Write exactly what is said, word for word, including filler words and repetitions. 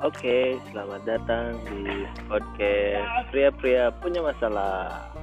Oke, selamat datang di podcast Pria-pria punya masalah.